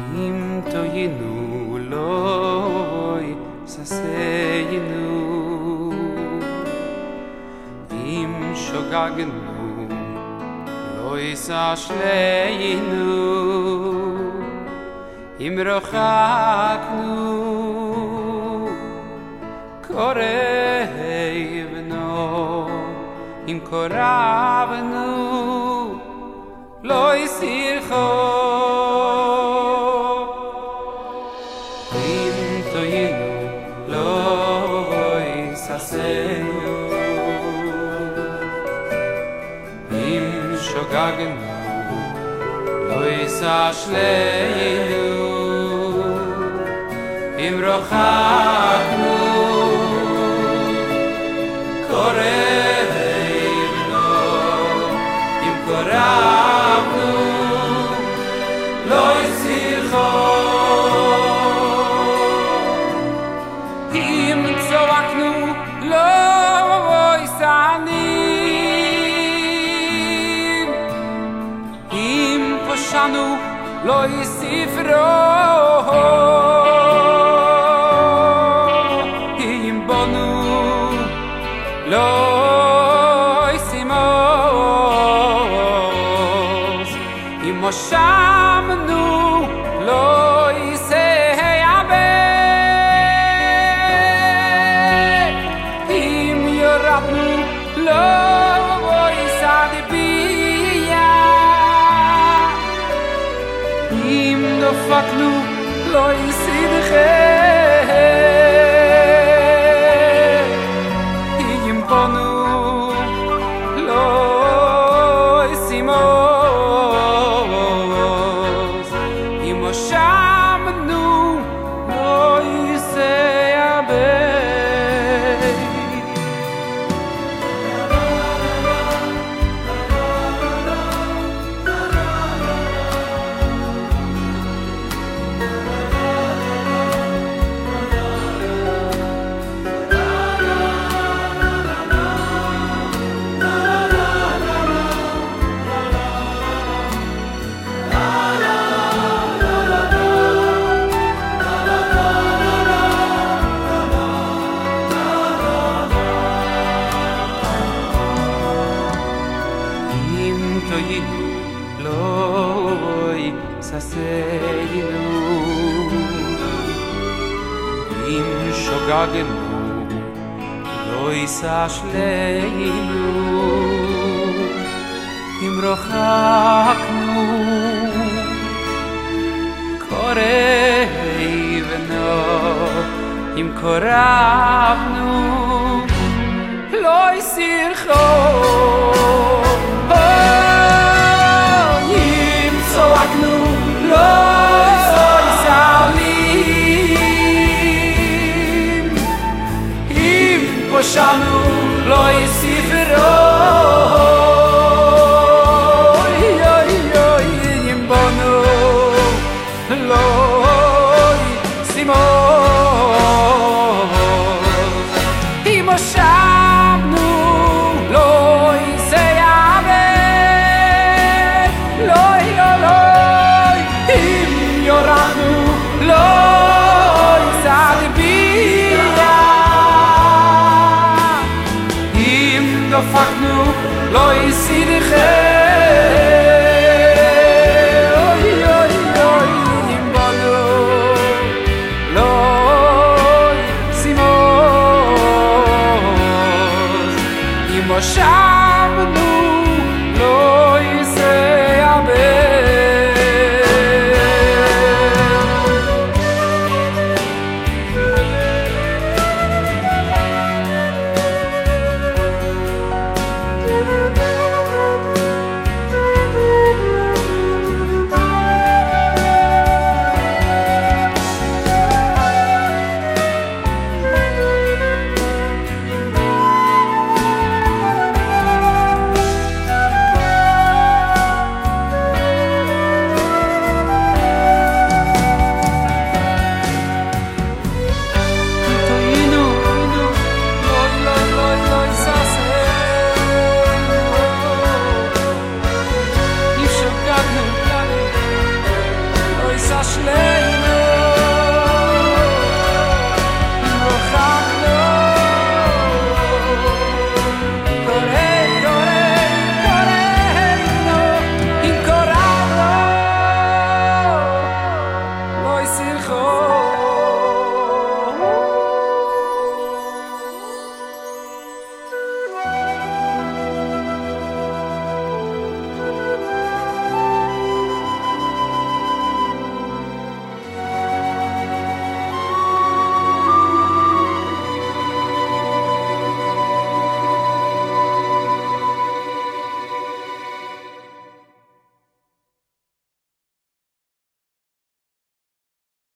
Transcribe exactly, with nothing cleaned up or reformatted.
אם תוינו לוי ססיינו אם שוגגנו לוי סשליינו אם רחקנו קורבנו אם קרבנו לא יסירחו אם תוינו לא יססנו אם שוגגנו לא יסשלנו אם רחקנו קורבנו אם קרבנו לא יסירחו אם צועקנו לא יסענים אם פשענו לא יספרו אם בנו לא ישימוס אם מושבנו לא יסייבא אם ירדנו לא יסעדביה אם דפקנו לא יסידכם אם בנו לא ישימוס אם מושבנו לא יסייבא תוינו לוי ססיינו אם שוגגנו לא יסשלנו אם רחקנו קורבנו אם קרבנו